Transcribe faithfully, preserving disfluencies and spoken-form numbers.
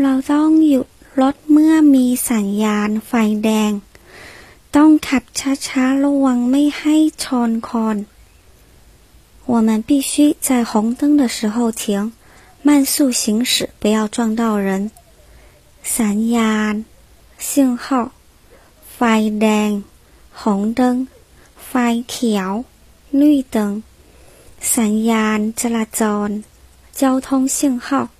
เราต้องหยุดรถเมื่อมีสัญญาณไฟแดงต้องขับช้าๆระวังไม่ให้ชนคน我们必须在红灯的时候停慢速行驶不要撞到人สัญญาณ信号ไฟแดง红灯ไฟเขียว绿灯สัญญาณจราจร交通信号